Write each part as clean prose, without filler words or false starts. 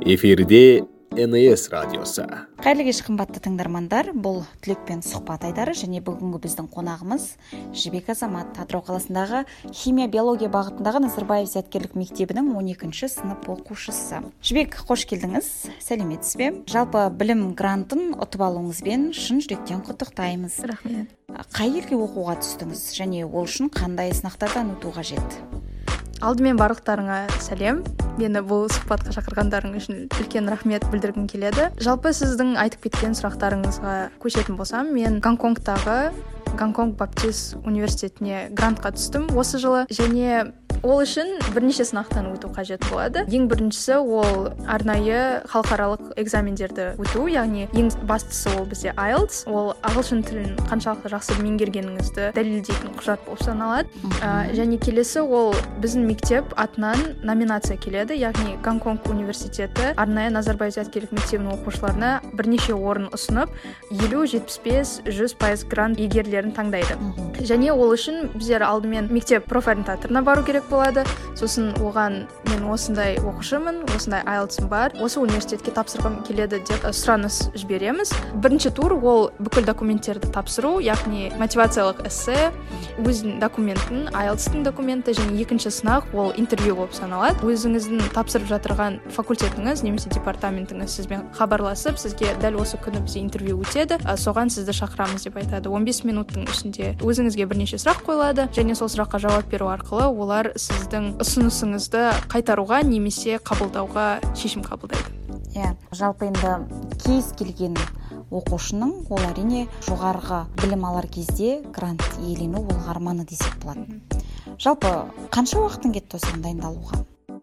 Эфирде НС радиосы. Қайырлы кеш қымбатты тыңдармандар, бұл Түлекпен сұхбат айдары және бүгінгі біздің қонағымыз Жібек Азамат, Атырау қаласындағы химия биология бағытындағы Назарбаев зияткерлік мектебінің 12-ші сынып оқушысы. Жібек, қош келдіңіз, сәлеметсіз бе? Жалпы білім грантын ұтып алуыңызбен шын жүректен құттықтаймыз. Рахмет. Қай елге оқуға түстіңіз және ол үшін қандай сынақтардан өту қажет? Алдымен барлықтарыңа сәлем. Мені бұл сұхбатқа шақырғандарың үшін үлкен рахмет білдіргім келеді. Жалпы сіздің айтып кеткен сұрақтарыңызға көшетін болсам, мен Гонконгтағы Гонконг Баптист университетіне грантқа түстім осы жылы, және ол үшін бірнеше сынақтан өту қажет болады. Ең біріншісі ол арнайы халықаралық экзамендерді өту, яғни ең бастысы ол бізде IELTS, ол ағылшын тілін қаншалықты жақсы меңгергеніңізді дәлелдейтін құжат болып саналады. Және келесі ол біздің мектеп атынан номинация келеді, яғни Гонконг университеті арнайы Назарбаев зияткерлік мектебінің оқушыларына бірнеше орын ұсынып, 50, 75, 100% грант иегерлерін таңдайды. Және ол үшін біздер алдымен мектеп профориентаторына бару керек болады. Сосын оған мен осындай оқушымын, осындай IELTS-ым бар, осы университетке тапсырғым келеді деп сұраныс жібереміз. Бірінші тур ол бүкіл документтерді тапсыру, яғни мотивациялық эссе, өзінің документін, IELTS-тың документі, және екінші сынақ ол интервью болып саналады. Өзіңіздің тапсырып жатырған факультетіңіз немесе департаментіңіз сізбен хабарласып, сізге дәл осы күні бізде интервью өтеді, соған сізді шақырамыз деп айтады. 15 минуттың ішінде өзіңізге бірнеше сұрақ қойылады, және сол сұраққа жауап беру арқылы олар сіздің ұсынысыңызды қайтаруға немесе қабылдауға шешім қабылдайды. Жалпы енді кез келген оқушының ол әрине жоғарғы білім алар кезде грант иелену ол арманы десек болады. Жалпы қанша уақытың кетті осыған дайындалуға?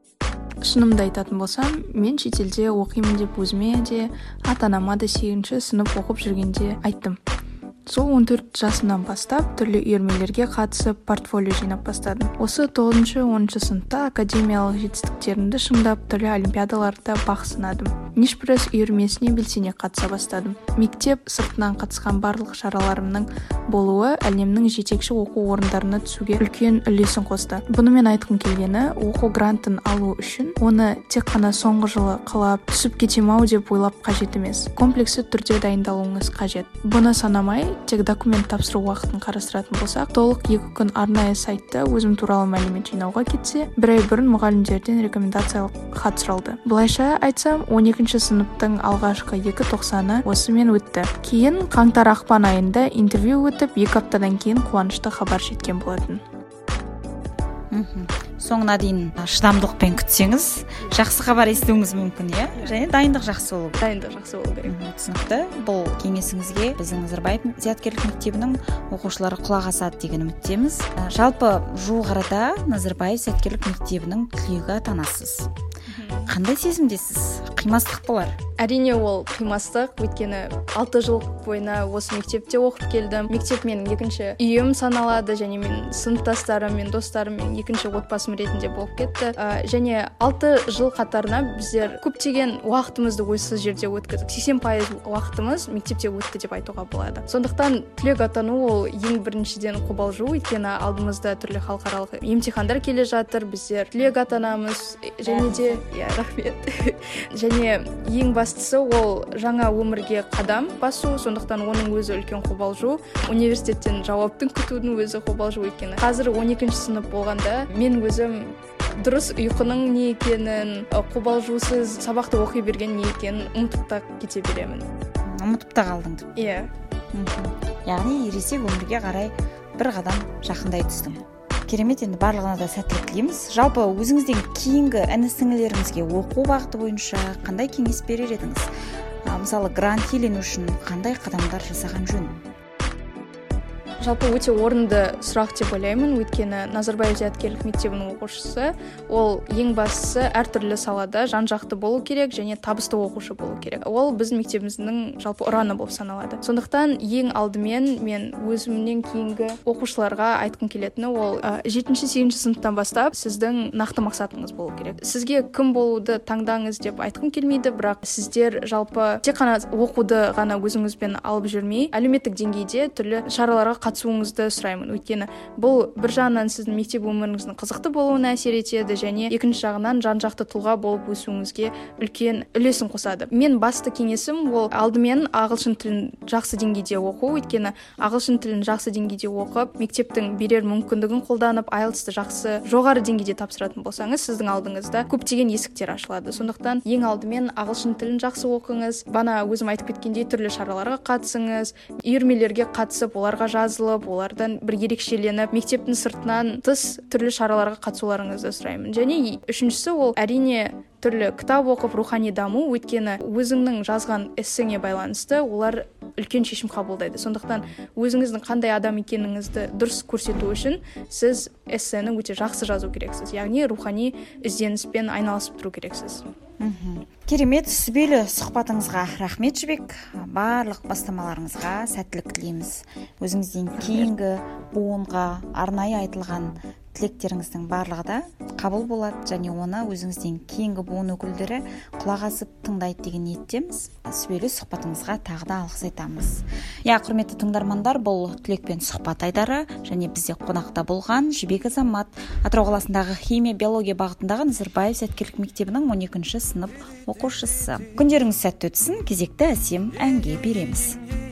Шынымды айтатын болсам, мен шетелде оқимын деп өзіме де, ата-анама да 8-ші сынып оқып жүргенде айттым. Сол 14 жасымнан бастап түрлі үйірмелерге қатысып портфолио жинап бастадым. Осы 9-10 сыныпта академиялық жетістіктерімді шыңдап түрлі олимпиадаларда бақ сынадым. Нишпресс үйірмесіне белсене қатыса бастадым. Мектеп сыртынан қатысқан барлық шараларымның болуы әлемнің жетекші оқу орындарына түсуге үлкен үлесін қосты. Бұнымен айтқым келгені, оқу грантын алу үшін оны тек қана соңғы жылы қалап түсіп кетем-ау деп ойлап қажет емес. Комплексті түрде дайындалуыңыз қажет. Бұны санамай, тек документ тапсыру уақытын қарастыратын болсақ, толық 2 күн арнайы сайтта өзім туралы мәлімет жинауға кетсе, бір ай бұрын мұғалімдерден рекомендациялық хат сұралды. Бұлайша айтсам, 12-ші сыныптың алғашқы 2 тоқсаны осымен өтті. Кейін қаңтар-ақпан айында интервью өтіп, 2 аптадан кейін қуанышты хабар жеткен болатын. Соңына дейін шыдамдылықпен күтсеңіз, жақсы хабар естуіңіз мүмкін, және дайындық жақсы болу. Дайындық жақсы болу керек. Түсінікті. Бұл кеңесіңізге біздің Назарбаев зияткерлік мектебінің оқушылары құлақ асады деген үміттеміз. Жалпы жуық арада Назарбаев зияткерлік мектебінің түлегі атанасыз. Қандай сезімдесіз? Қимастық болар? Әрине ол қимастық, өйткені 6 жыл бойына осы мектепте оқып келдім. Мектеп менің екінші үйім саналады, және мен сыныптастарым мен достарым мен екінші отбасым ретінде болып кетті. Және 6 жыл қатарына біздер көптеген уақытымызды ойсыз жерде өткіздік. 80% уақытымыз мектепте өтті деп айтуға болады. Сондықтан түлек атану ол ең біріншіден қобалжу, өйткені алдымызда түрлі халықаралық емтихандар келе жатыр. Біздер түлек атанамыз, және де рахмет. Және ең бастысы ол жаңа өмірге қадам басу, сондықтан оның өзі үлкен қобалжу. Университеттен жауаптың күтудің өзі қобалжу екені. Қазір 12-ші сынып болғанда мен өзім дұрыс ұйқының не екенін, қобалжусыз сабақты оқи берген не екенін ұмытып та кете беремін. Ұмытып та қалдың деп. Иә. Яғни ересек өмірге қарай бір қадам жақындай түстің. Керемет, енді барлығына да сәттілік тілейміз. Жалпы өзіңізден кейінгі іні-сіңлілеріңізге оқу бағыты бойынша қандай кеңес берер едіңіз? Мысалы, грант иелену үшін қандай қадамдар жасаған жөн? Жалпы өте орынды сұрақ деп ойлаймын, өйткені Назарбаев зияткерлік мектебінің оқушысы ол ең бастысы әртүрлі салада жан-жақты болу керек және табысты оқушы болу керек. Ол біздің мектебіміздің жалпы ұраны болып саналады. Сондықтан ең алдымен мен өзімнен кейінгі оқушыларға айтқым келетіні ол 7-8 сыныптан бастап сіздің нақты мақсатыңыз болу керек. Сізге кім болуды таңдаңыз деп айтқым келмейді, бірақ сіздер жалпы тек қана оқуды ғана өзіңізбен алып жүрмей, әлеуметтік деңгейде түрлі шараларға қатысуыңызды сұраймын. Өйткені бұл бір жағынан сіздің мектеп өміріңіздің қызықты болуына әсер етеді, және екінші жағынан жан-жақты тұлға болып өсуіңізге үлкен үлесін қосады. Мен басты кеңесім ол алдымен ағылшын тілін жақсы деңгейде оқу. Өйткені ағылшын тілін жақсы деңгейде оқып, мектептің берер мүмкіндігін қолданып, IELTS-ті жақсы жоғары деңгейде тапсыратын болсаңыз, сіздің алдыңызда көптеген есіктер ашылады. Сондықтан ең алдымен ағылшын тілін жақсы оқыңыз. Бана өзім айтып кеткендей, түрлі шараларға қатысыңыз, үйірмелерге қатысып, оларға жазылып, олардан бір ерекшеленіп, мектептің сыртынан тыс түрлі шараларға қатысуларыңызды сұраймын. Және үшіншісі ол әрине түрлі кітап оқып рухани даму. Өйткені өзіңнің жазған эссеңе байланысты олар үлкен шешім қабылдайды. Сондықтан өзіңіздің қандай адам екеніңізді дұрыс көрсету үшін сіз эссені өте жақсы жазу керексіз. Яғни рухани ізденіспен айналысып тұру керексіз. Керемет, сүбелі сұхбатыңызға рахмет Жібек. Барлық бастамаларыңызға сәттілік тілейміз. Өзіңізден кейінгі буынға арнайы айтылған тілектеріңіздің барлығы да қабыл болады, және оны өзіңізден кейінгі буын өкілдері құлақ асып тыңдайды деген ниеттеміз. Сүбелі сұхбатыңызға тағы да алғыс айтамыз. Құрметті тыңдармандар, бұл Түлекпен сұхбат айдары, және бізде қонақта болған Жібек Азамат, Атырау қаласындағы химия биология бағытындағы Назарбаев зияткерлік мектебінің 12-ші сынып оқушысы. Күндеріңіз сәтті өтсін, кезекті әсем әнге береміз.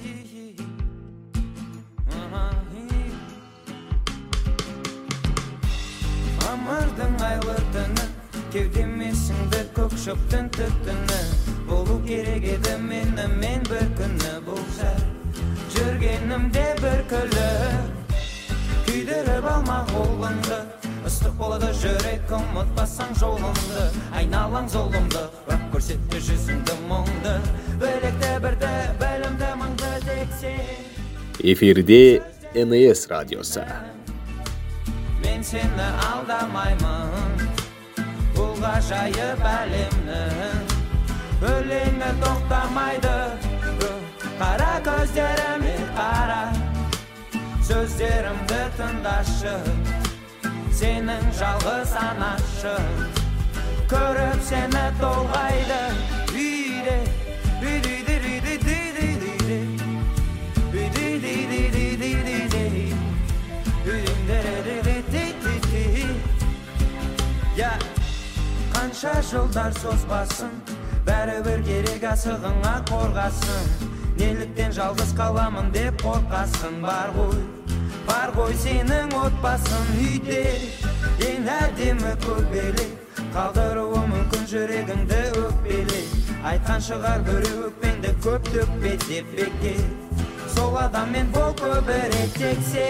Мамырдың айлы түні, кеудемесіңді көк шөптің түтіні, болу керек еді мен бір күні болса, жүргенімде бір күліп, күйдіріп алма қолыңды, ыстық болады жүрек, ұмытпасаң жолыңды, айналаң зұлымды, бірақ көрсетті жүзіңді мұңды, білекті бірді, білімді маңды тексе. Эфирде НС радиосы. Мен сені алдамаймын, бұл ғажайып әлемнің өлеңі тоқтамайды. Қара көздеріме қара, сөздерімді тыңдашы, сенің жалғыз анашы, көріп сені толғайды. Қанша жылдар созбасын, бәрібір керек асығыңа қорғасын. Неліктен жалғыз қаламын деп қорқасын. Бар ғой сенің отбасын үйде, ең әдемі көбелек, қалдыруы мүмкін жүрегіңді өкпеле. Айтқан шығар біреу өкпеңді көп төкпе деп бекер, сол адаммен бол көбірек тексе.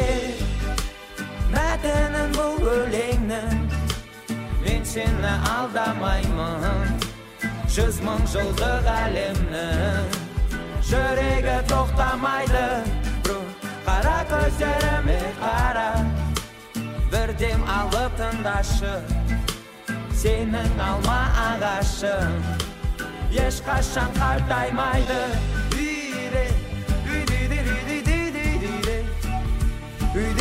Мәтінін бұл өлеңнің, мен сені алдамаймын, 100 мың жылдық әлемнің жүрегі тоқтамайды. Қара көздеріме қара, бірдем алып тыңдашы, сенің алма ағашың ешқашан қартаймайды. Үйде